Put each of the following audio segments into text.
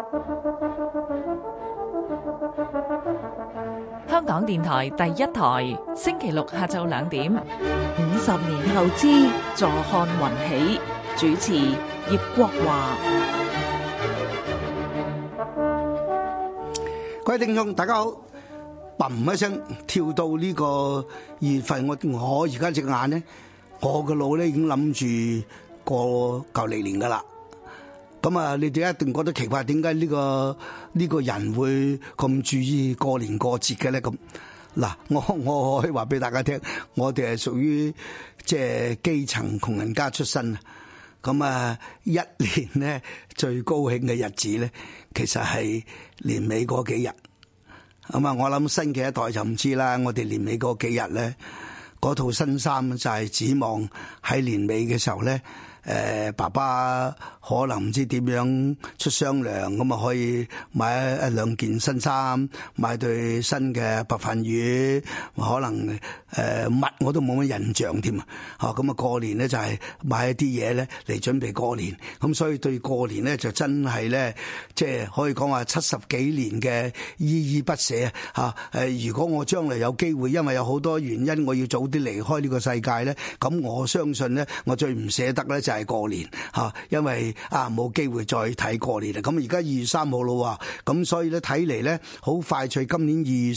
香港電台第一台，星期六下晝2點。 50年後之坐看雲起，主持葉國華。 各位聽眾大家好，砰一聲跳到呢個2月份，我而家隻眼咧，我個腦咧已經諗住過舊歷年噶啦。咁啊，你哋一定覺得奇怪，點解呢個人會咁注意過年過節嘅咧？咁嗱，我可以話俾大家聽，我哋係屬於即係基層窮人家出身啊。咁啊，一年咧最高興嘅日子咧，其實係年尾嗰幾日。咁啊，我諗新嘅一代就唔知啦。我哋年尾嗰幾日咧，嗰套新衫就係指望喺年尾嘅時候咧。爸爸可能唔知點樣出雙糧，咁啊可以買一兩件新衫，買對新嘅白飯魚，可能襪我都冇乜印象添啊！咁啊過年咧就係買一啲嘢咧嚟準備過年，咁所以對過年咧就真係咧，即係可以講話70幾年嘅依依不捨啊！如果我將來有機會，因為有好多原因我要早啲離開呢個世界咧，咁我相信咧，我最唔捨得咧就係過年吓，因為冇機會再睇過年啦。咁而家2月3號咯，咁所以咧睇嚟咧好快脆，今年2月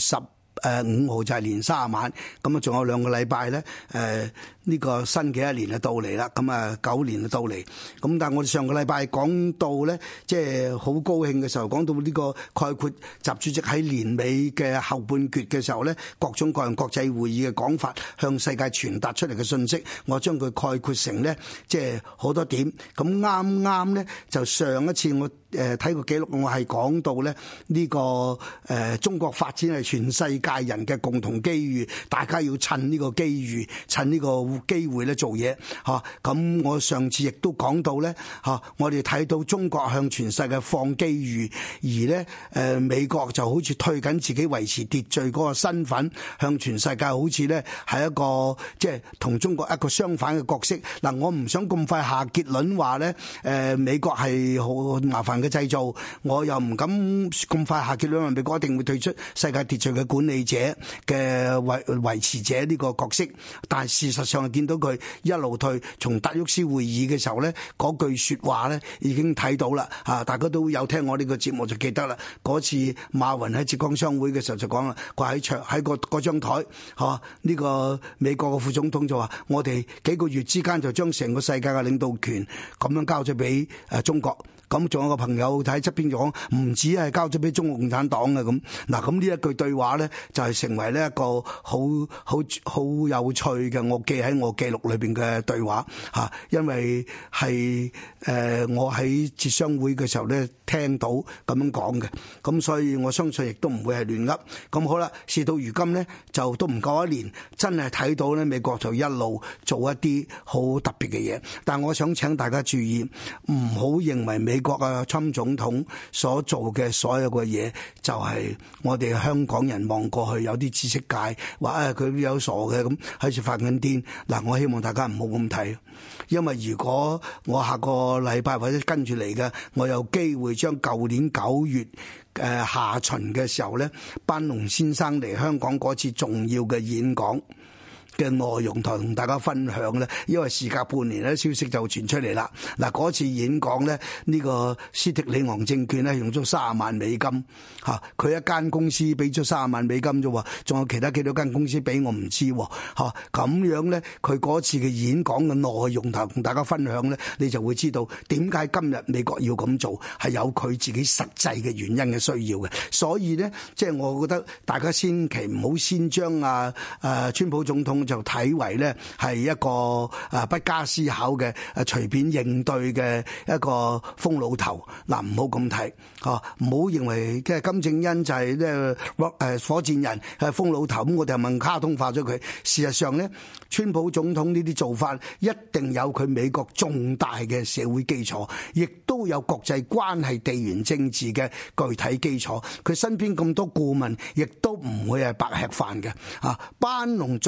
15號就係年卅晚，咁啊仲有2個禮拜咧，呢個新嘅一年就到嚟啦，咁啊9年就到嚟。咁但係我哋上個禮拜講到咧，即係好高興嘅時候，講到呢個概括習主席喺年尾嘅後半決嘅時候咧，各種各樣國際會議嘅講法，向世界傳達出嚟嘅信息，我將佢概括成咧，即係好多點。咁啱啱咧就上一次我睇個記錄，我係講到咧呢個中國發展係全世界人嘅共同機遇，大家要趁呢個機遇，趁呢個機會咧做嘢嚇。咁我上次亦都講到咧嚇，我哋睇到中國向全世界放機遇，而咧美國就好似退緊自己維持秩序嗰個身份，向全世界好似咧係一個即係同中國一個相反嘅角色。嗱，我唔想咁快下結論話咧美國係好麻煩嘅製造，我又唔敢咁快下結論話美國一定會退出世界秩序嘅管理者嘅維持者呢個角色。但係事實上係見到佢一路退，從達沃斯會議嘅時候咧，嗰句說話咧已經睇到啦嚇，大家都有聽我呢個節目就記得啦。嗰次馬雲喺浙江商會嘅時候就講啦，佢喺嗰張台嚇，呢個美國嘅副總統就話：我哋幾個月之間就將成個世界嘅領導權咁樣交咗俾中國。咁仲有個朋友喺側邊就講，唔止係交咗俾中國共產黨嘅咁。嗱，咁呢一句對話咧，就係成為呢一個好有趣嘅，我記喺我記錄裏邊嘅對話嚇，因為係我喺浙商會嘅時候咧聽到咁樣講嘅，咁所以我相信亦都唔會係亂噏。咁好啦，事到如今咧，就都唔夠一年，真係睇到咧美國就一路做一啲好特別嘅嘢。但係我想請大家注意，唔好認為美國啊，川普總統所做嘅所有嘅嘢，就係我哋香港人望過去有啲知識界話佢有傻嘅咁喺度發緊癲。嗱，我希望大家唔好咁睇，因為如果我下個禮拜或者跟住嚟嘅，我有機會將舊年9月下旬嘅時候咧，班農先生嚟香港嗰次重要嘅演講嘅內容同大家分享咧，因為時隔半年咧，消息就傳出嚟啦。嗱，嗰次演講咧，呢個斯迪里昂證券咧用咗30萬美金嚇，佢一間公司俾咗30萬美金啫喎，仲有其他幾多間公司俾我唔知喎嚇。咁樣咧，佢嗰次嘅演講嘅內容同大家分享咧，你就會知道點解今日美國要咁做，係有佢自己實際嘅原因嘅需要嘅。所以咧，即係我覺得大家千祈唔好先將川普總統就睇為咧係一個不加思考嘅隨便應對嘅一個瘋老頭。嗱，唔好咁睇嚇，唔好認為即係金正恩就係咧火箭人係瘋老頭，咁我哋係問卡通化咗佢。事實上咧，川普總統呢啲做法一定有佢美國重大嘅社會基礎，亦都有國際關係、地緣政治嘅具體基礎。佢身邊咁多顧問，亦都唔會係白吃飯嘅。班農作為呢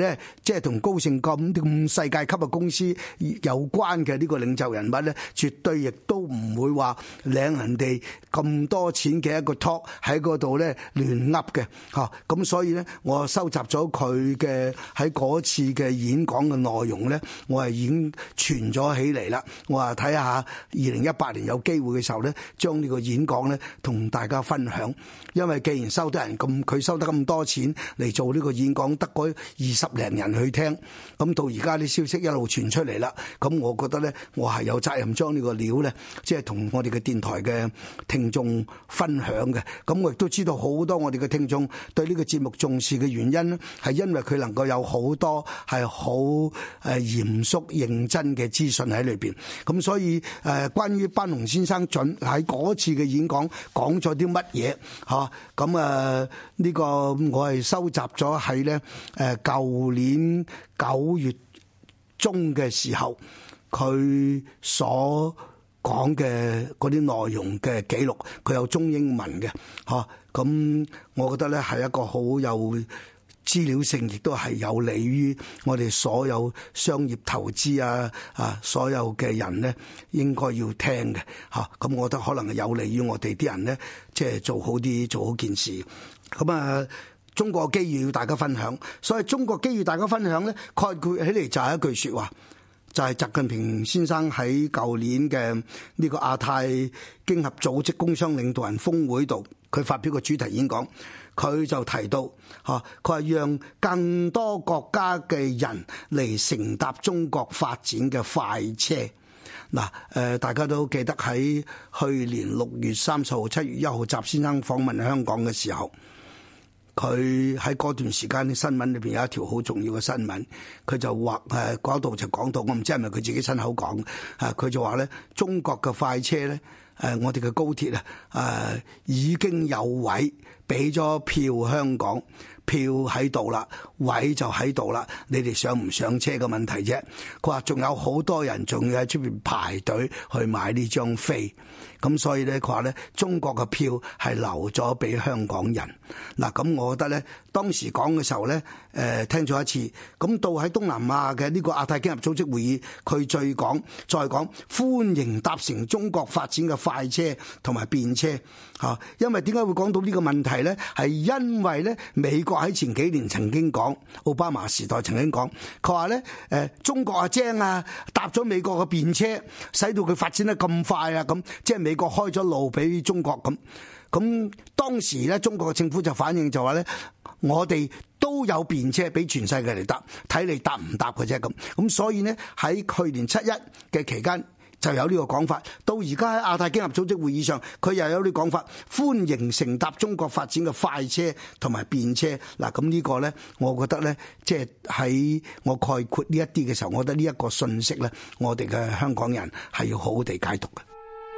咧，即係同高盛咁世界級嘅公司有關嘅呢個領袖人物咧，絕對亦都唔會話領人哋咁多錢嘅一個 talk 喺嗰度咧亂噏嘅嚇。咁所以咧，我收集咗佢嘅喺嗰次嘅演講嘅內容咧，我係已經傳咗起嚟啦。我話睇下2018年有機會嘅時候咧，將呢個演講咧同大家分享。因為既然收得人咁，佢收得咁多錢嚟做呢個演講，得嗰20零人去聽，咁到而家啲消息一路傳出嚟啦，咁我覺得咧，我係有責任將呢個料咧，即係同我哋嘅電台嘅聽眾分享嘅。咁我亦都知道好多我哋嘅聽眾對呢個節目重視嘅原因咧，係因為佢能夠有好多係好嚴肅認真嘅資訊喺裏邊。咁所以關於班農先生準喺嗰次嘅演講講咗啲乜嘢嚇，咁呢個我係收集咗喺咧舊年9月中嘅時候佢所講嘅嗰啲內容嘅記錄，佢有中英文嘅嚇。咁我覺得咧係一個好有資料性，亦都係有利於我哋所有商業投資所有嘅人咧應該要聽嘅嚇。咁我覺得可能係有利於我哋啲人咧，即係做好件事。咁中國嘅機遇要大家分享，所以中國機遇大家分享咧，概括起嚟就係一句說話，就係習近平先生喺舊年嘅呢個亞太經合組織工商領導人峰會度，佢發表個主題演講，佢就提到佢話讓更多國家嘅人嚟乘搭中國發展嘅快車。嗱，大家都記得喺去年6月30號、7月1號習先生訪問香港嘅時候，佢喺嗰段時間啲新聞裏邊有一條好重要嘅新聞，佢就話嗰度就講到，我唔知係咪佢自己親口講，佢就話咧中國嘅快車咧，我哋嘅高鐵已經有位，俾咗票香港。票喺度啦，位就喺度啦，你哋上唔上車嘅問題啫。佢話仲有好多人仲要喺出邊排隊去買呢張飛，咁所以咧佢話咧中國嘅票係留咗俾香港人。嗱，咁我覺得咧當時講嘅時候咧，聽咗一次，咁到喺東南亞嘅呢個亞太經合組織會議，佢再講歡迎搭乘中國發展嘅快車同埋便車嚇。因為點解會講到呢個問題咧？係因為咧美國喺前幾年曾經講，奧巴馬時代曾經講，佢話咧中國精搭咗美國嘅便車，使到佢發展得咁快咁，即係美國開咗路俾中國咁。咁當時咧中國嘅政府就反應就話咧，我哋都有便車俾全世界嚟搭，睇你搭唔搭嘅啫咁。咁所以呢，喺去年7·1嘅期間就有呢個講法，到而家喺亞太經合組織會議上，佢又有呢個講法，歡迎乘搭中國發展嘅快車同埋便車。嗱，咁呢個咧，我覺得咧，即係喺我概括呢一啲嘅時候，我覺得呢一個信息咧，我哋嘅香港人係要好好地解讀嘅。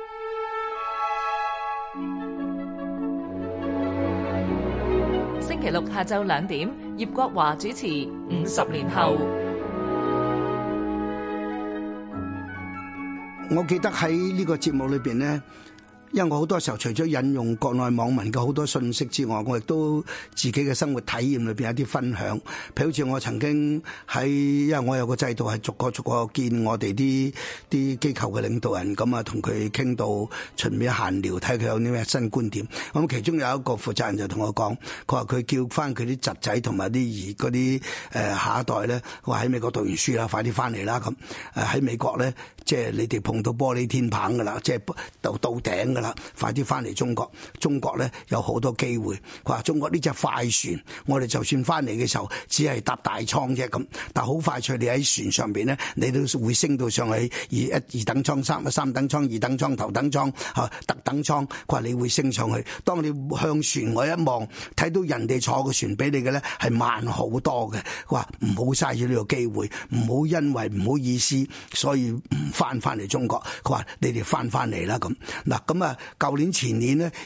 星期六下晝2點，葉國華主持《50年後》。 我記得喺呢個節目裏邊呢，因為我好多時候除咗引用國內網民嘅好多信息之外，我亦都自己嘅生活體驗裏邊有啲分享。譬如好似我曾經因為我有個制度係逐個見我哋啲機構嘅領導人，咁同佢傾到順便閒聊，睇佢有啲咩新觀點。咁其中有一個負責人就同我講，佢話佢叫翻佢啲侄仔同埋嗰啲下一代咧，話喺美國讀完書啦，快啲翻嚟啦咁。喺美國咧，即係你哋碰到玻璃天棚噶啦，即係到頂噶啦，快啲翻嚟中國。中國咧有好多機會。佢話中國呢隻快船，我哋就算翻嚟嘅時候，只係搭大倉啫咁，但好快脆，你喺船上邊咧，你都會升到上去二等艙、三等艙、二等艙、頭等艙、特等艙。佢話你會升上去。當你向船外一望，睇到人哋坐個船俾你嘅咧係慢好多嘅。佢話唔好嘥咗呢個機會，唔好因為唔好意思，所以唔翻嚟中國。佢話你哋翻嚟啦咁。嗱咁啊，舊年前年咧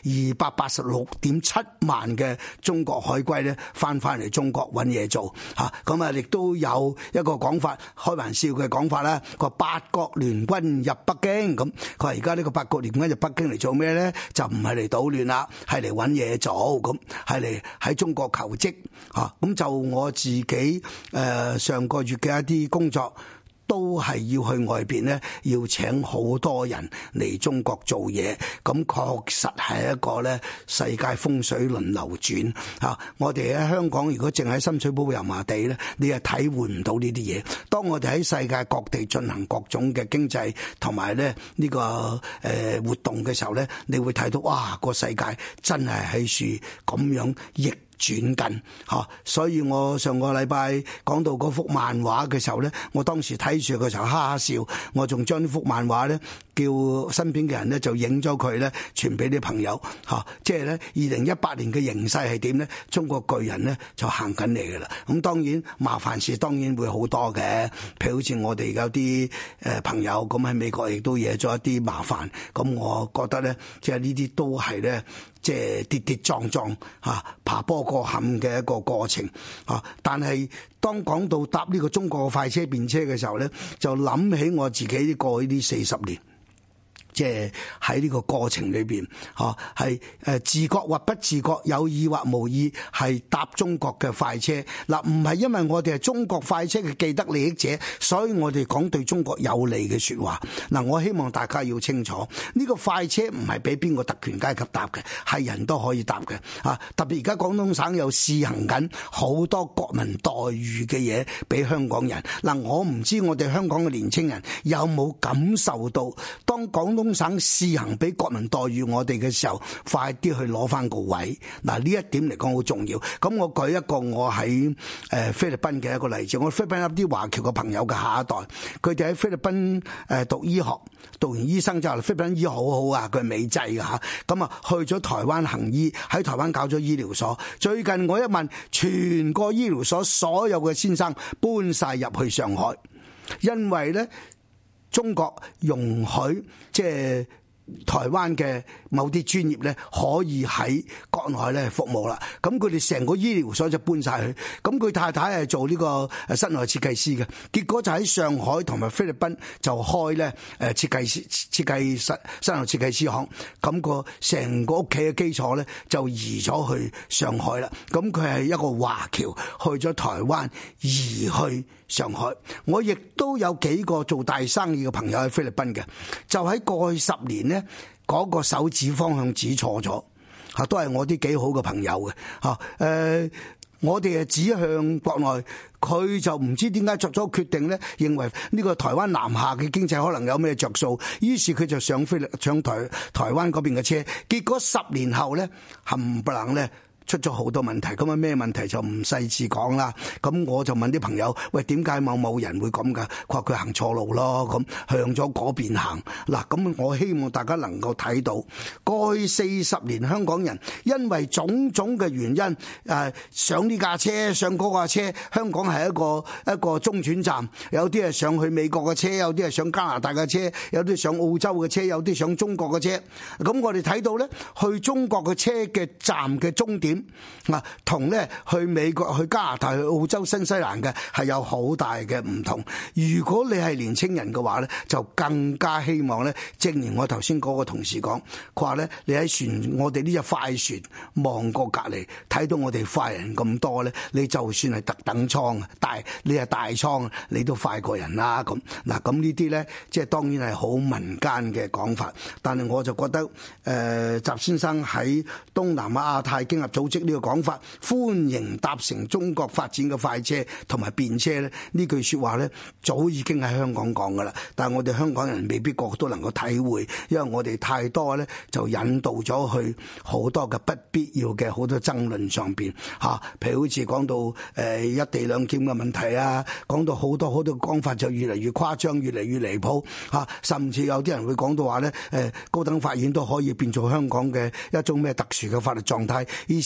286.7萬嘅中國海龜咧翻嚟中國揾嘢做嚇，咁啊亦都有一個講法，開玩笑嘅講法啦，個八國聯軍入北京，咁佢話而家呢個八國聯軍入北京嚟做咩咧？就唔係嚟搗亂啦，係嚟揾嘢做，咁係嚟喺中國求職嚇。咁就我自己上個月嘅一啲工作，都係要去外邊咧，要請好多人嚟中國做嘢，咁確實係一個咧世界風水輪流轉嚇。我哋喺香港如果淨喺深水埗油麻地咧，你係體會唔到呢啲嘢。當我哋喺世界各地進行各種嘅經濟同埋咧呢個活動嘅時候咧，你會睇到哇個世界真係喺處咁樣逆轉緊嚇，所以我上個禮拜講到嗰幅漫畫嘅時候咧，我當時睇住嘅時候哈哈笑，我仲將呢幅漫畫咧叫身邊嘅人咧就影咗佢咧傳俾啲朋友嚇，即係咧2018年嘅形勢係點咧？中國巨人咧就行緊嚟嘅啦。咁當然麻煩事當然會好多嘅，譬如好似我哋有啲朋友咁喺美國亦都惹咗一啲麻煩，咁我覺得咧即係呢啲都係咧。即係跌跌撞撞嚇，爬坡過坎嘅一個過程嚇。但係當講到搭呢個中國嘅快車便車嘅時候咧，就諗起我自己過去呢40年。即係喺呢個過程裏邊，嚇係自覺或不自覺，有意或無意，係搭中國嘅快車。嗱，唔係因為我哋係中國快車嘅既得利益者，所以我哋講對中國有利嘅説話。嗱，我希望大家要清楚，呢個快車唔係俾邊個特權階級搭嘅，係人都可以搭嘅。啊，特別而家廣東省有試行緊好多國民待遇嘅嘢俾香港人。嗱，我唔知我哋香港嘅年青人有冇感受到，當廣東省試行俾國民待遇我哋嘅時候，快啲去攞翻個位。嗱，呢一點嚟講好重要。咁我舉一個我喺菲律賓嘅一個例子。我菲律賓有啲華僑嘅朋友嘅下一代，佢哋喺菲律賓讀醫學，讀完醫生之後，菲律賓醫學好好啊，佢係美製嘅嚇。咁啊去咗台灣行醫，喺台灣搞咗醫療所。最近我一問，全個醫療所所有嘅先生搬晒入去上海，因為咧。中國容許即係台灣嘅某啲專業咧，可以喺國內咧服務啦。咁佢哋成個醫療所就搬晒去。咁佢太太係做呢個室內設計師嘅，結果就喺上海同埋菲律賓就開咧設計室內設計師行。咁個成個屋企嘅基礎咧就移咗去上海啦。咁佢係一個華僑去咗台灣移去上海。我亦都有幾個做大生意嘅朋友喺菲律賓嘅，就喺過去10年呢，嗰個手指方向指錯咗嚇，都係我啲幾好嘅朋友嘅嚇。我哋係指向國內，佢就唔知點解作咗決定咧，認為呢個台灣南下嘅經濟可能有咩着數，於是佢就上台灣嗰邊嘅車，結果10年後咧冚唪唥咧。出咗好多問題，咁啊咩問題就唔細緻講啦。咁我就問啲朋友，喂，點解某人會咁噶？佢話佢行錯路咯，咁向咗嗰邊行。嗱，咁我希望大家能夠睇到，過去40年香港人因為種種嘅原因，上呢架車上嗰架車，香港係一個中轉站，有啲係上去美國嘅車，有啲係上加拿大嘅車，有啲上澳洲嘅車，有啲上中國嘅車。咁我哋睇到咧，去中國嘅車嘅站嘅終點。同咧去美國、去加拿大、去澳洲、新西蘭嘅係有好大嘅唔同。如果你係年青人嘅話咧，就更加希望咧，正如我頭先嗰個同事講，佢話咧，你喺船，我哋呢隻快船望過隔離，睇到我哋快人咁多咧，你就算係特等艙你係大艙，你都快過人啦。咁嗱，咁呢啲咧，即係當然係好民間嘅講法，但係我就覺得習先生喺東南亞太經合組織呢個講法，歡迎搭乘中國發展嘅快車同埋便車咧，呢句說話咧早已經喺香港講噶啦，但係我哋香港人未必個個都能夠體會，因為我哋太多咧就引導咗去好多嘅不必要嘅好多爭論上邊吓，譬如好似講到一地兩檢嘅問題啊，講到好多講法就越嚟越誇張，越嚟越離譜吓，甚至有啲人會講到話咧高等法院都可以變做香港嘅一種咩特殊嘅法律狀態，於是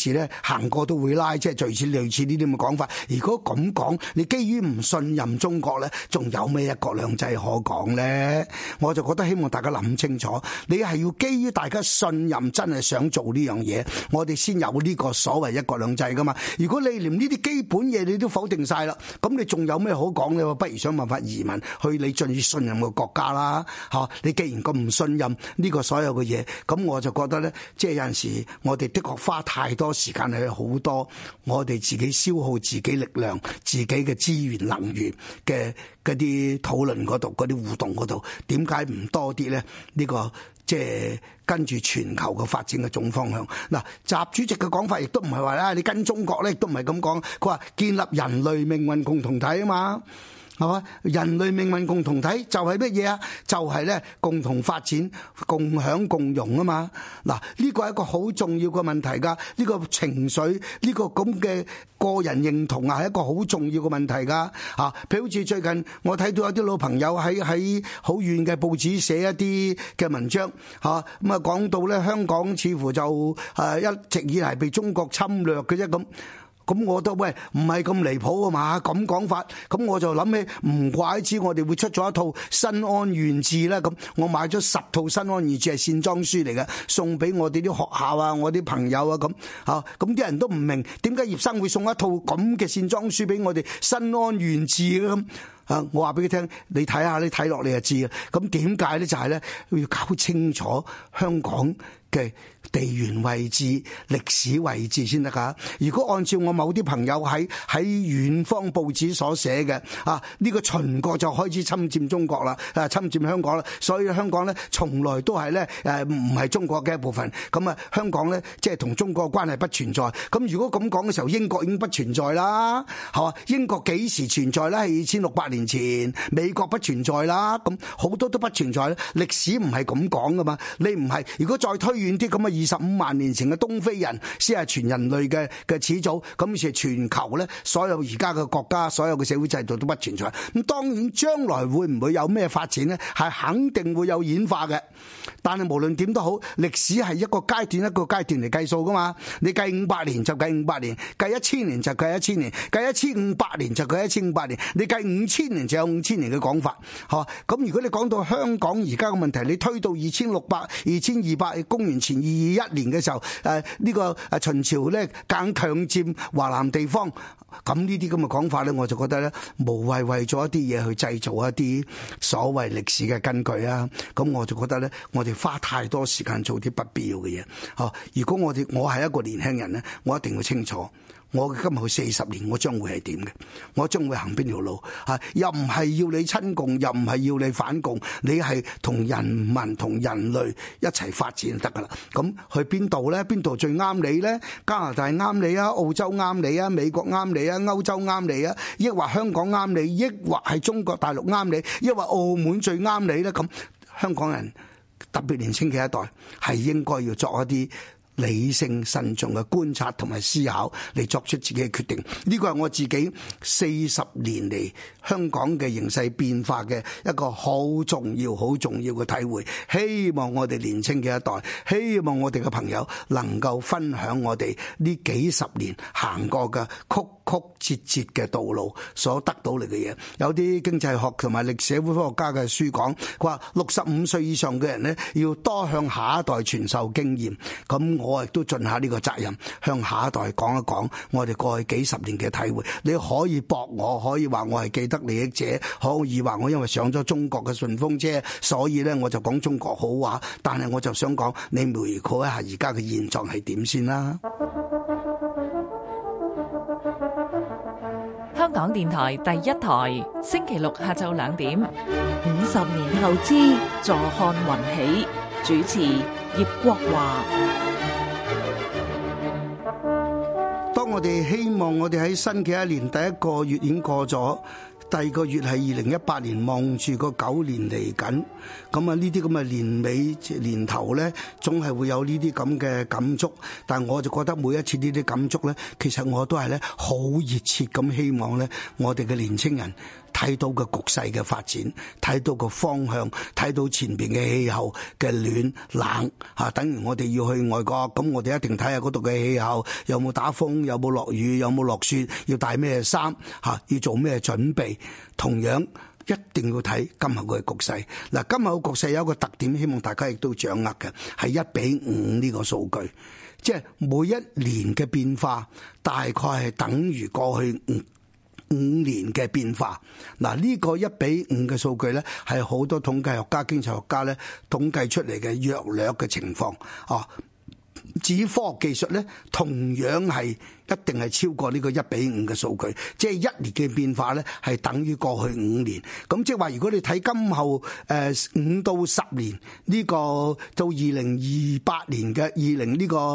時咧行過都會拉，即係類似呢啲咁嘅講法。如果咁講，你基於唔信任中國咧，仲有咩一國兩制可講咧？我就覺得希望大家諗清楚，你係要基於大家信任，真係想做呢樣嘢，我哋先有呢個所謂一國兩制噶嘛。如果你連呢啲基本嘢你都否定晒啦，咁你仲有咩好講咧？不如想辦法移民去你最信任嘅國家啦，嚇！你既然咁唔信任呢個所有嘅嘢，咁我就覺得咧，即係有陣時我哋的確花太多時間去好多我哋自己消耗自己力量、自己嘅資源能源嘅嗰啲討論嗰度、嗰啲互動嗰度，點解唔多啲咧？呢個即係跟住全球嘅發展嘅總方向。嗱，習主席嘅講法亦都唔係話啦，你跟中國咧，亦都唔係咁講。佢話建立人類命運共同體啊嘛。係嘛？人類命運共同體就係乜嘢啊？就係咧共同發展、共享共榮啊嘛！嗱，呢個係一個好重要嘅問題㗎。呢個情緒，呢個咁嘅個人認同啊，係一個好重要嘅問題㗎。啊，譬如好似最近我睇到有啲老朋友喺好遠嘅報紙寫一啲嘅文章，嚇咁啊講到咧香港似乎就一直以嚟被中國侵略嘅啫咁。咁我覺得喂唔係咁離譜啊嘛，咁講法，咁我就諗起唔怪之我哋會出咗一套《新安縣志》啦。咁我買咗10套《新安縣志》係線裝書嚟嘅，送俾我哋啲學校啊，我啲朋友啊咁嚇。咁啲人都唔明點解葉生會送一套咁嘅線裝書俾我哋《新安縣志》嘅咁。我話俾佢聽，你睇下，你睇落你就知啊。咁點解咧？就係咧要搞清楚香港嘅地緣位置、歷史位置先得㗎。如果按照我某啲朋友喺遠方報紙所寫嘅，呢個秦國就開始侵佔中國啦，侵佔香港啦，所以香港咧從來都係咧唔係中國嘅一部分。咁啊，香港咧即係同中國嘅關係不存在。咁如果咁講嘅時候，英國已經不存在啦，係嘛？英國幾時存在咧？係2600年前，美國不存在啦，咁好多都不存在咧。歷史唔係咁講噶嘛，你唔係如果再推遠啲咁啊，25萬年前嘅東非人先係全人類嘅始祖，咁於是全球咧所有而家嘅國家、所有嘅社會制度都不存在。咁當然將來會唔會有咩發展呢？係肯定會有演化嘅。但係無論點都好，歷史係一個階段一個階段嚟計數噶嘛。你計500年就計500年，計1000年就計1000年，計1500年就計1500年，你計5000年就有5000年嘅講法，係嘛？咁如果你講到香港而家嘅問題，你推到2600、2200公元前221年嘅時候，呢個秦朝咧硬強佔華南地方，咁呢啲咁嘅講法咧，我就覺得咧無謂為咗一啲嘢去製造一啲所謂歷史嘅根據啊。咁我就覺得咧，我哋花太多時間做啲不必要嘅嘢。如果我係一個年輕人咧，我一定要清楚。我今後40年，我將會係點嘅？我將會行邊條路？又唔係要你親共，又唔係要你反共，你係同人民、同人類一齊發展就得噶啦。咁去邊度咧？邊度最啱你咧？加拿大啱你啊？澳洲啱你啊？美國啱你啊？歐洲啱你啊？抑或香港啱你？抑或係中國大陸啱你？抑或澳門最啱你咧？咁香港人特別年輕嘅一代係應該要作一啲理性慎重嘅觀察同埋思考嚟作出自己嘅決定，呢個係我自己40年嚟香港嘅形勢變化嘅一個好重要嘅體會。希望我哋年輕嘅一代，希望我哋嘅朋友能夠分享我哋呢幾十年行過嘅曲曲折折嘅道路所得到嚟嘅嘢。有啲經濟學同埋歷史社會科學家嘅書講，佢話65歲以上嘅人呢，要多向下一代傳授經驗。咁我亦都盡下呢個責任，向下一代講一講我哋過去幾十年嘅體會。你可以駁我，可以話我係既得利益者，可以話我因為上咗中國嘅順風車，所以咧我就講中國好話。但係我就想講，你回顧一下而家嘅現狀係點先啦。 香港電台第一台，星期六下晝2點。 50年後之，坐看雲起。主持葉國華。 當我哋希望我哋喺新嘅一年第一個月已經過咗， 第二個月係2018年，望住個9年嚟緊，咁啊呢啲咁嘅年尾年頭咧，總係會有呢啲咁嘅感觸。但係我就覺得每一次呢啲感觸咧，其實我都係咧好熱切咁希望咧，我哋嘅年青人睇到個局勢嘅發展，睇到個方向，睇到前邊嘅氣候嘅暖冷嚇。等於我哋要去外國，咁我哋一定睇下嗰度嘅氣候有冇打風，有冇落雨，有冇落雪，要帶咩衫嚇，要做咩準備。同樣一定要睇今後嘅局勢。嗱，今後嘅局勢有一個特點，希望大家亦都掌握嘅係1:5呢個數據，即係每一年嘅變化大概係等於過去5年嘅變化。嗱，呢個1:5嘅數據咧，係好多統計學家、經濟學家咧統計出嚟嘅約略嘅情況。至於科學技術咧，同樣係一定係超過呢個1:5嘅數據，即係一年嘅變化咧係等於過去5年。咁即係話，如果你睇今後5到10年呢個到2028年嘅呢個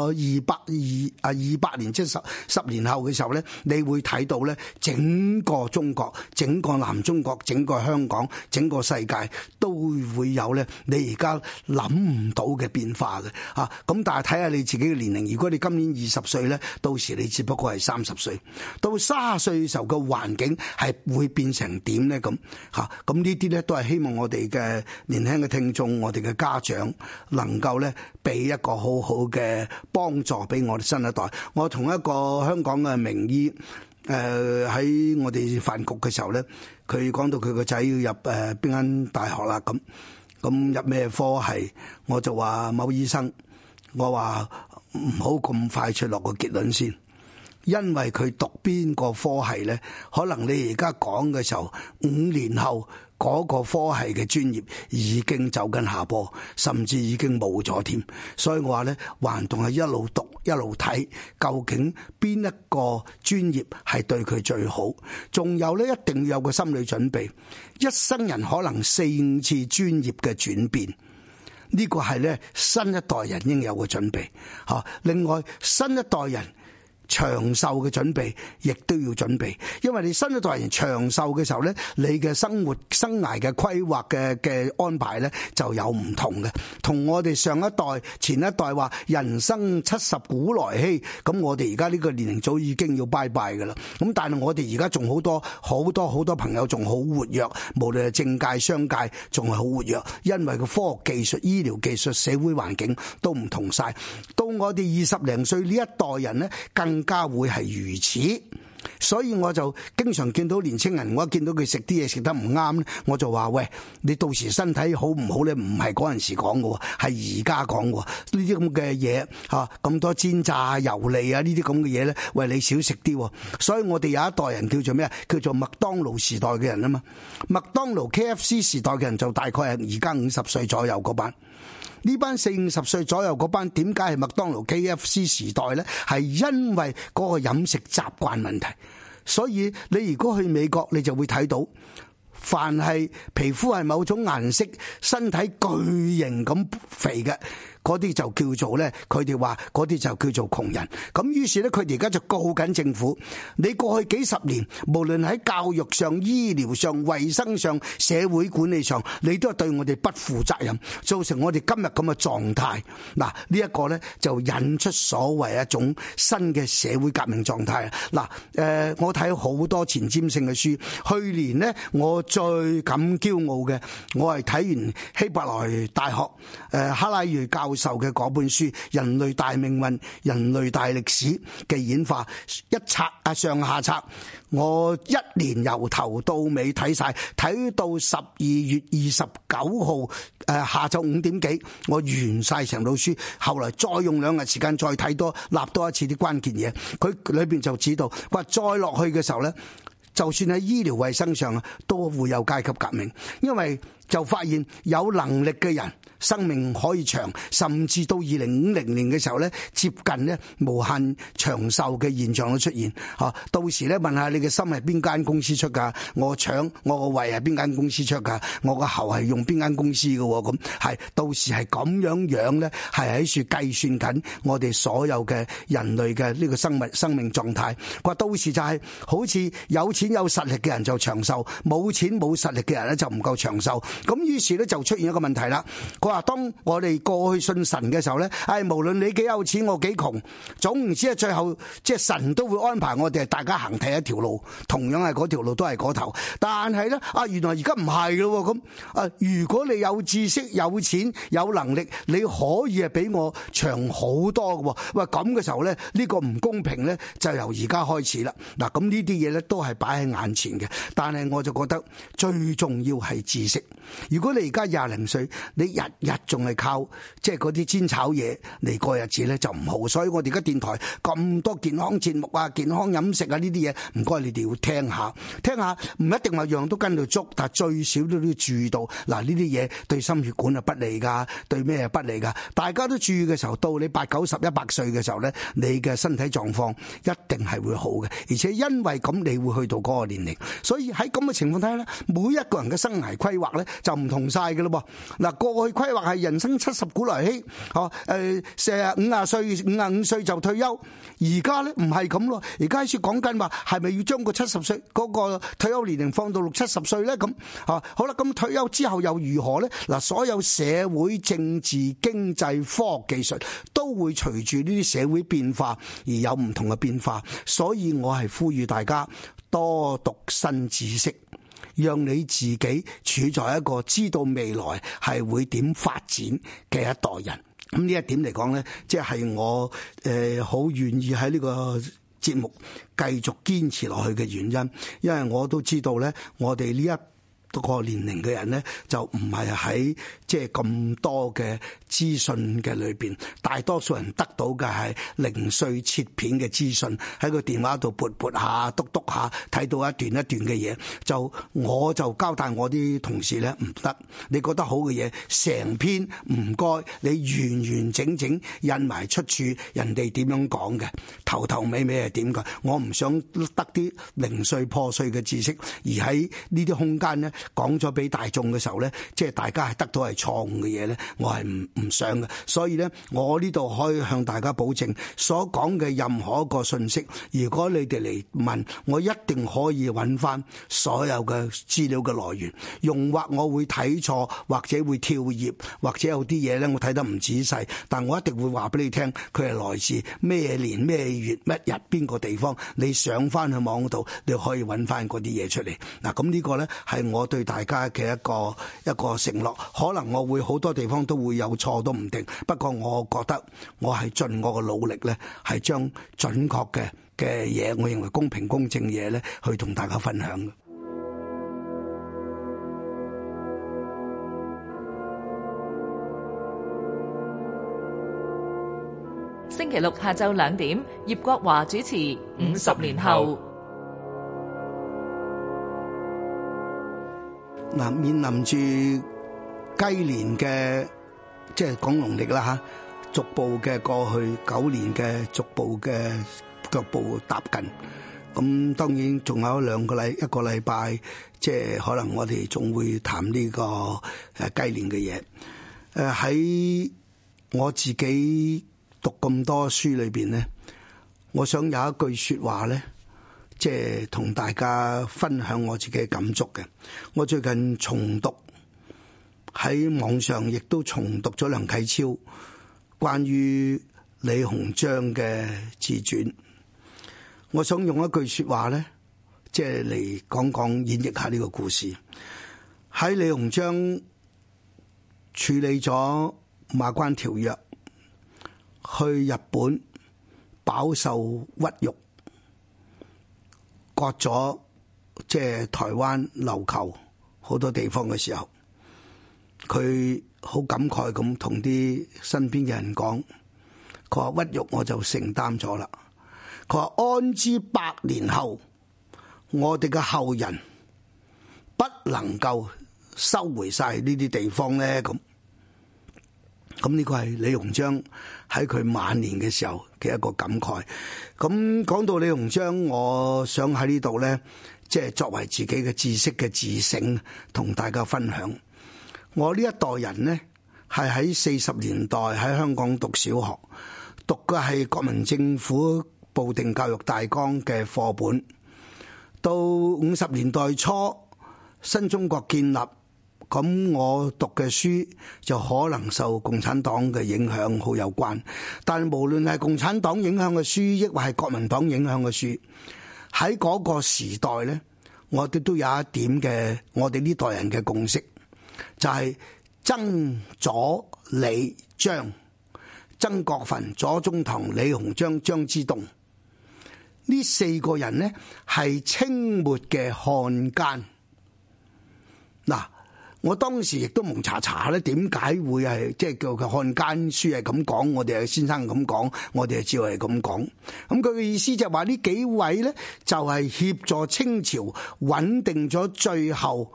28年，即係十年後嘅時候咧，你會睇到咧整個中國、整個南中國、整個香港、整個世界都會有咧你而家諗唔到嘅變化嘅嚇。咁但係睇下你自己嘅年齡，如果你今年20歲咧，到時你只不過係30歲，到30歲嘅時候嘅環境係會變成點咧？咁嚇，咁呢啲咧都係希望我哋嘅年輕嘅聽眾，我哋嘅家長能夠咧俾一個好好嘅幫助俾我哋新一代。我同一個香港嘅名醫喺我哋飯局嘅時候咧，佢講到佢個仔要入邊間大學啦，咁入咩科系？我就話某醫生。我話唔好咁快出落個結論先，因為佢讀邊個科系咧，可能你而家講嘅時候，5年後嗰個科系嘅專業已經走緊下坡，甚至已經冇咗添。所以我話咧，還仲係一路讀一路睇，究竟邊一個專業係對佢最好？仲有咧，一定要有個心理準備，一生人可能4-5次專業嘅轉變。呢個係咧新一代人應有嘅準備嚇。另外，新一代人長壽嘅準備亦都要準備，因為你新一代人長壽嘅時候咧，你嘅生活生涯嘅規劃嘅安排咧就有唔同嘅。同我哋上一代前一代話人生70古來稀，咁我哋而家呢個年齡早已經要拜拜㗎啦。咁但係我哋而家仲好多朋友仲好活躍，無論係政界商界仲係好活躍，因為個科學技術、醫療技術、社會環境都唔同晒。到我哋20零歲呢一代人咧，更加會係如此。所以我就經常見到年青人，我一見到佢食啲嘢食得唔啱咧，我就話：喂，你到時身體好唔好咧？唔係嗰陣時講嘅，係而家講嘅。呢啲咁嘅嘢嚇，咁多煎炸油膩啊，呢啲咁嘅嘢咧，喂，你少食啲。所以我哋有一代人叫做咩啊？叫做麥當勞時代嘅人啊嘛。麥當勞 KFC 時代嘅人就大概係而家50歲左右嗰班。呢班40-50歲左右嗰班，點解係麥當勞 KFC 時代咧？係因為嗰個飲食習慣問題。所以你如果去美國，你就會睇到，凡係皮膚係某種顏色、身體巨型咁肥嘅，嗰啲就叫做咧，佢哋話嗰啲就叫做窮人。咁於是咧，佢哋而家就告緊政府。你過去幾十年，無論喺教育上、醫療上、衛生上、社會管理上，你都係對我哋不負責任，造成我哋今日咁嘅狀態。嗱，呢一個咧就引出所謂一種新嘅社會革命狀態。嗱，我睇好多前瞻性嘅書。去年呢，我最感驕傲嘅，我係睇完希伯來大學哈拉瑞教授嘅嗰本書《人類大命運、人類大歷史嘅演化》，一冊上下冊，我一年由頭到尾睇晒，睇到12月29號下晝5點幾，我完晒成套書。後來再用2日時間再睇多立多一次啲關鍵嘢，佢裏邊就指到話再落去嘅時候咧，就算喺醫療衛生上啊，都會有階級革命，因為就發現有能力嘅人生命可以長，甚至到2050年嘅時候咧，接近咧無限長壽嘅現象都出現。到時咧問下你嘅心係邊間公司出㗎？我腸我個胃係邊間公司出㗎？我個喉係用邊間公司嘅？咁係到時係咁樣咧，係喺處計算緊我哋所有嘅人類嘅呢個生命狀態。佢話到時就係好似有錢有實力嘅人就長壽，冇錢冇實力嘅人咧就唔夠長壽。咁於是咧就出現一個問題啦。佢話當我哋過去信神嘅時候咧，無論你幾有錢我幾窮，總唔知係最後即係神都會安排我哋大家行第一條路，同樣係嗰條路都係嗰頭。但係咧原來而家唔係咯咁如果你有知識、有錢、有能力，你可以係比我長好多嘅。喂，咁嘅時候咧，呢個唔公平咧就由而家開始啦。嗱，咁呢啲嘢咧都係擺喺眼前嘅，但係我就覺得最重要係知識。如果你而家廿零歲，你日日仲係靠即係嗰啲煎炒嘢嚟過日子咧，就唔好。所以我哋而家電台咁多健康節目啊、健康飲食啊呢啲嘢，唔該你哋要聽下，唔一定話樣都跟到足，但係最少都要注意到嗱，呢啲嘢對心血管係不利噶，對咩係不利噶？大家都注意嘅時候，到你80、90、100歲嘅時候咧，你嘅身體狀況一定係會好嘅，而且因為咁你會去到嗰個年齡，所以喺咁嘅情況底下咧，每一個人嘅生涯規劃咧就唔同晒嘅咯噃。嗱，過去規劃係人生70古來稀，50歲、55歲就退休，而家咧唔係咁咯。而家開始講緊話係咪要將個70歲嗰個退休年齡放到60、70歲咧？咁好啦，咁退休之後又如何咧？嗱，所有社會、政治、經濟、科學、技術都會隨住呢啲社會變化而有唔同嘅變化，所以我係呼籲大家多讀新知識，讓你自己處在一個知道未來係會點發展嘅一代人。咁呢一點嚟講咧，即係我好願意喺呢個節目繼續堅持落去嘅原因，因為我都知道咧，我哋呢一個年齡嘅人咧，就唔係喺即係咁多嘅資訊嘅裏邊，大多數人得到嘅係零碎切片嘅資訊，喺個電話度撥下、篤下，睇到一段一段嘅嘢。我就交代我啲同事咧，唔得，你覺得好嘅嘢，成篇唔該，你完完整整印埋出處，人哋點樣講嘅，頭頭尾尾係點㗎？我唔想得啲零碎破碎嘅知識，而喺呢啲空間咧，講咗俾大眾嘅時候咧，即係大家係得到係錯誤嘅嘢咧，我係唔想嘅。所以咧，我呢度可以向大家保證，所講嘅任何一個信息，如果你哋嚟問，我一定可以揾翻所有嘅資料嘅來源。用或我會睇錯，或者會跳頁，或者有啲嘢咧我睇得唔仔細，但我一定會話俾你聽，佢係來自咩年咩月乜日邊個地方。你上翻去網度，你可以揾翻嗰啲嘢出嚟。嗱，咁呢個咧係我對大家嘅一個承諾。可能我會好多地方都會有錯都唔定，不過我覺得我係盡我嘅努力咧，係將準確嘅嘢，我認為公平公正嘢咧，去同大家分享嘅。 星期六下晝2點，葉國華主持《50年後》。 嗱，面臨住雞年嘅即係講農曆啦嚇，逐步嘅過去9年嘅逐步嘅腳步踏近，咁當然仲有一個禮拜，即係可能我哋仲會談呢個雞年嘅嘢。喺我自己讀咁多書裏邊咧，我想有一句説話咧，即係同大家分享我自己嘅感觸嘅。我最近重讀喺網上，亦都重讀咗梁啟超關於李鴻章嘅自傳。我想用一句説話咧，即係嚟講演繹下呢個故事。喺李鴻章處理咗馬關條約，去日本飽受屈辱，割咗即係台灣、琉球好多地方嘅時候，佢好感慨咁同啲身邊嘅人講，佢話屈辱我就承擔咗啦。佢話安知100年後，我哋嘅後人不能夠收回晒呢啲地方咧？咁咁呢個係李鴻章喺佢晚年嘅時候嘅一個感慨。咁講到李鴻章，我想喺呢度咧，即係作為自己嘅知識嘅自省，同大家分享。我呢一代人呢，係喺40年代喺香港讀小學，讀嘅係國民政府部定教育大綱嘅課本。到50年代初，新中國建立。咁我讀嘅書就可能受共產黨嘅影響好有關，但無論係共產黨影響嘅書，抑或係國民黨影響嘅書，喺嗰個時代呢，我哋都有一點嘅，我哋呢代人嘅共識，就係曾左李張，曾國藩、左宗棠、李鴻章、張之洞呢4個人呢，係清末嘅漢奸。嗱，我當時亦都蒙查查咧，點解會係即係叫佢漢奸書係咁講？我哋係先生咁講，我哋係照係咁講。咁佢嘅意思就係話呢幾位咧，就係協助清朝穩定咗最後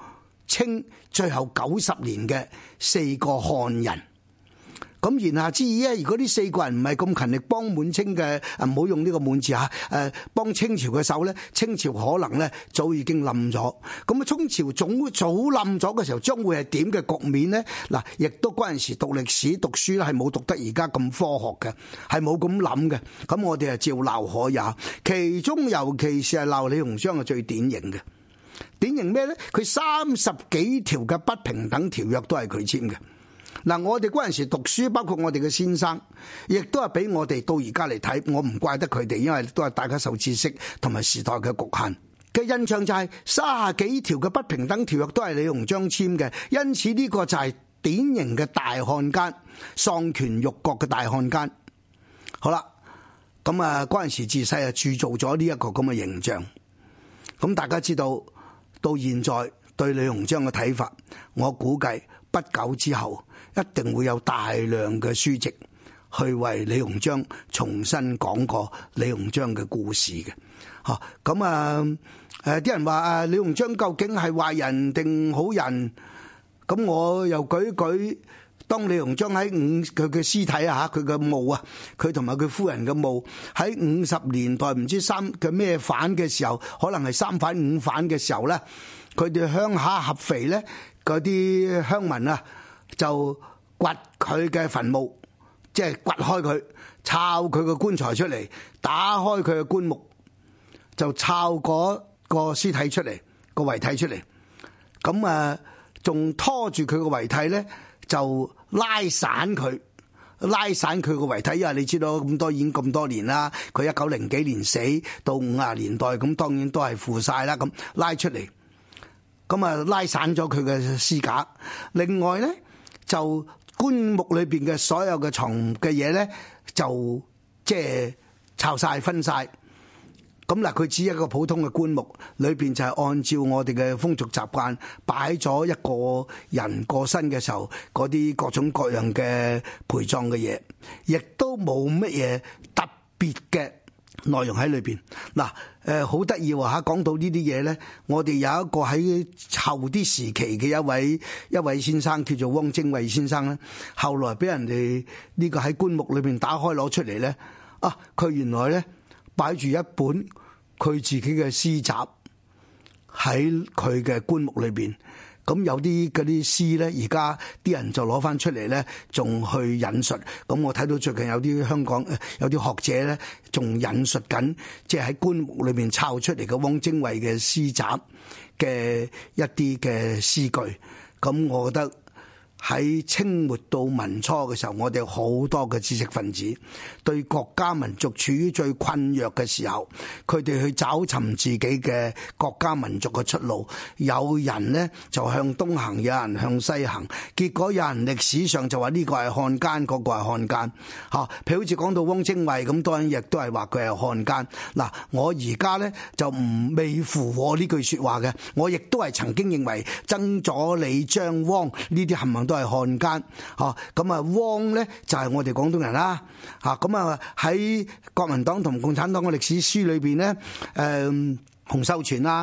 90年嘅4個漢人。咁言下之意咧，如果呢4個人唔係咁勤力幫滿清嘅，唔好用呢個滿字嚇，幫清朝嘅手咧，清朝可能咧早已經冧咗。咁啊，清朝早冧咗嘅時候，將會係點嘅局面咧？嗱，亦都嗰陣時讀歷史讀書咧，係冇讀得而家咁科學嘅，係冇咁諗嘅。咁我哋係照鬧可也，其中尤其是係鬧李鴻章係最典型嘅。典型咩咧？佢30幾條嘅不平等條約都係佢簽嘅。嗱，我哋嗰陣時讀書，包括我哋嘅先生，亦都係俾我哋到而家嚟睇，我唔怪得佢哋，因為都係大家受知識同埋時代嘅局限嘅印象，就係30幾條嘅不平等條約都係李鴻章簽嘅，因此呢個就係典型嘅大漢奸，喪權辱國嘅大漢奸。好啦，咁啊嗰陣時自細啊鑄造咗呢一個咁嘅形象，咁大家知道到現在對李鴻章嘅睇法，我估計不久之後一定會有大量嘅書籍去為李鴻章重新講過李鴻章嘅故事嘅。咁啲人話李鴻章究竟係壞人定好人？咁我又舉當李鴻章喺佢嘅屍體啊，佢嘅墓啊，佢同埋佢夫人嘅墓喺50年代唔知嘅咩反嘅時候，可能係3反5反嘅時候咧，佢哋鄉下合肥咧，嗰啲鄉民啊就掘佢嘅墳墓，即係掘開佢，抄佢個棺材出嚟，打開佢嘅棺木，就抄嗰個屍體出嚟，個遺體出嚟。咁仲拖住佢個遺體咧，就拉散佢個遺體，因為你知道已經咁多年啦，佢1900幾年死，到50年代，咁當然都係腐晒啦，咁拉出嚟，咁拉散咗佢嘅屍架。另外咧，就棺木裏邊嘅所有嘅藏嘅嘢咧，就即係抄晒分晒。咁嗱，佢只係一個普通嘅棺木，裏邊就係按照我哋嘅風俗習慣擺咗一個人過身嘅時候嗰啲各種各樣嘅陪葬嘅嘢，亦都冇乜嘢特別嘅內容喺裏邊。嗱，好得意喎嚇！講到呢啲嘢咧，我哋有一個喺後啲時期嘅一位先生叫做汪精衛先生咧，後來俾人哋呢個喺棺木裏邊打開攞出嚟咧，佢原來咧擺住一本佢自己嘅詩集喺佢嘅棺木裏邊，咁有啲嗰啲詩咧，而家啲人就攞翻出嚟咧，仲去引述。咁我睇到最近有啲香港有啲學者咧，仲引述緊，即係喺棺木裏邊抄出嚟嘅汪精衛嘅詩集嘅一啲嘅詩句。咁我覺得喺清末到民初嘅時候，我哋好多嘅知識分子對國家民族處於最困弱嘅時候，佢哋去找尋自己嘅國家民族嘅出路。有人呢就向東行，有人向西行，結果有人歷史上就話呢個係漢奸，嗰個係漢奸。譬如好似講到汪精衛咁，當然亦都係話佢係漢奸。嗱，我而家呢就未符合呢句說話嘅，我亦都係曾經認為曾左李張汪呢啲冚唪唥都係漢奸。咁汪呢就係我哋廣東人啦。咁喺國民黨同共產黨嘅歷史書裏邊呢，洪秀全啦、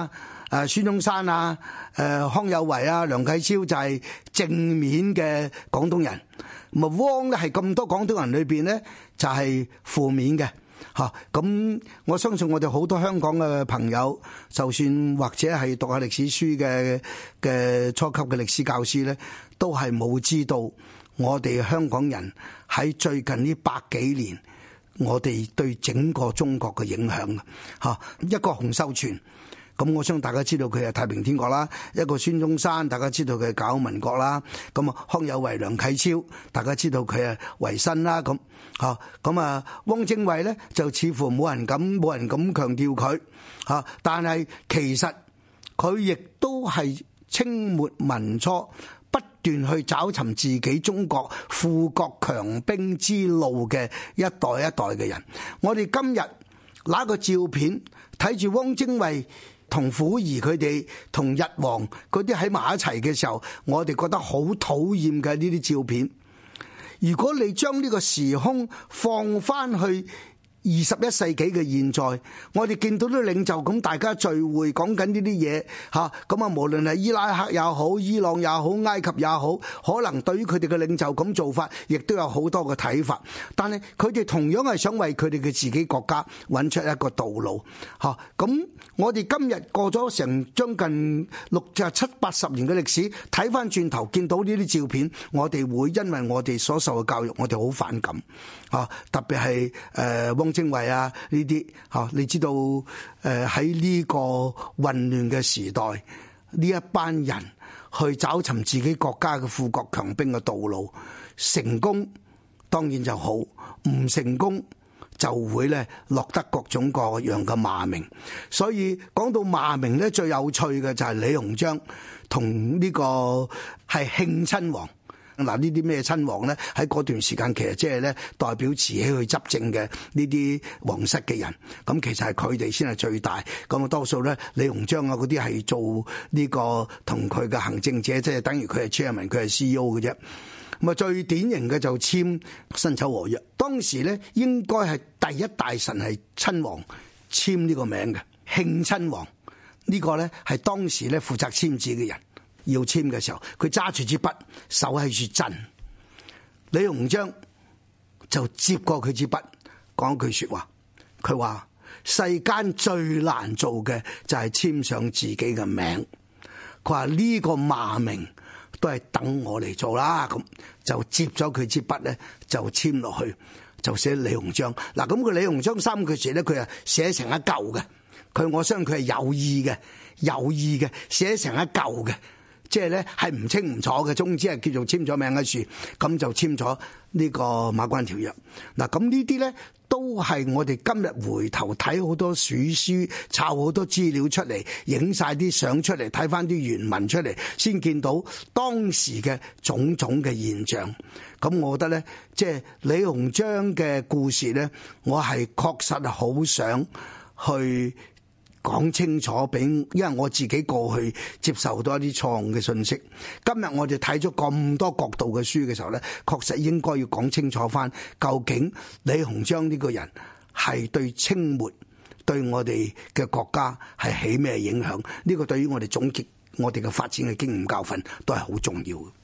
孫中山啊、康有為啊、梁啟超就係正面嘅廣東人，咁啊汪咧係咁多廣東人裏邊咧就係負面嘅。咁我相信我哋好多香港嘅朋友，就算或者係讀下歷史書嘅初級嘅歷史教師咧，都係冇知道我哋香港人喺最近呢百幾年，我哋對整個中國嘅影響嘅。一個洪秀全，咁我相信大家知道佢係太平天國啦；一個孫中山，大家知道佢係搞民國啦；咁啊康有為、梁啟超，大家知道佢係維新啦。咁啊汪精衛咧就似乎冇人敢強調佢，但係其實佢亦都係清末民初不斷去找尋自己中國富國強兵之路嘅一代一代嘅人。我哋今日拿個照片睇住汪精衛同溥儀佢哋同日皇嗰啲喺埋一齊嘅時候，我哋覺得好討厭嘅呢啲照片。如果你將呢個時空放翻去21世紀嘅現在，我哋見到啲領袖咁大家聚會講緊呢啲嘢嚇，咁啊無論係伊拉克也好、伊朗也好、埃及也好，可能對於佢哋嘅領袖咁做法，亦都有好多嘅睇法。但係佢哋同樣係想為佢哋嘅自己國家揾出一個道路嚇。咁我哋今日過咗成將近70-80年嘅歷史，睇翻轉頭見到呢啲照片，我哋會因為我哋所受嘅教育，我哋好反感嚇。特別係汪精衛啊呢啲嚇，你知道喺呢個混亂嘅時代，呢一班人去找尋自己國家嘅富國強兵嘅道路，成功當然就好，唔成功就會咧落得各種各樣嘅罵名。所以講到罵名咧，最有趣嘅就係李鴻章同呢個係慶親王。嗱，呢啲咩親王咧？喺嗰段時間其實即係咧代表慈禧去執政嘅呢啲皇室嘅人，咁其實係佢哋先係最大。咁啊多數咧李鴻章啊嗰啲係做呢個同佢嘅行政者，即係等於佢係 chairman， 佢係 CEO 嘅啫。咁啊最典型嘅就簽辛丑和約，當時咧應該係第一大臣係親王簽呢個名嘅慶親王，呢個咧係當時咧負責簽字嘅人。要簽嘅時候，佢揸住支筆，手喺處震。李鴻章就接過佢支筆，講句說話。佢話：世間最難做嘅就係簽上自己嘅名。佢話呢個罵名都係等我嚟做啦。咁就接咗佢支筆咧，就簽落去，就寫李鴻章。嗱，咁個李鴻章三句字咧，佢係寫成一嚿嘅。我相信佢係有意嘅，寫成一嚿嘅。即係咧係唔清唔楚嘅，總之係叫做簽咗名喺樹，咁就簽咗呢個馬關條約。嗱，咁呢啲咧都係我哋今日回頭睇好多史書，抄好多資料出嚟，影晒啲相出嚟，睇翻啲原文出嚟，先見到當時嘅種種嘅現象。咁我覺得咧，即係李鴻章嘅故事咧，我係確實好想去講清楚俾，因為我自己過去接受到一啲錯誤嘅信息。今日我哋睇咗咁多角度嘅書嘅時候咧，確實應該要講清楚翻，究竟李鴻章呢個人係對清末對我哋嘅國家係起咩影響？呢個對於我哋總結我哋嘅發展嘅經驗教訓都係好重要嘅。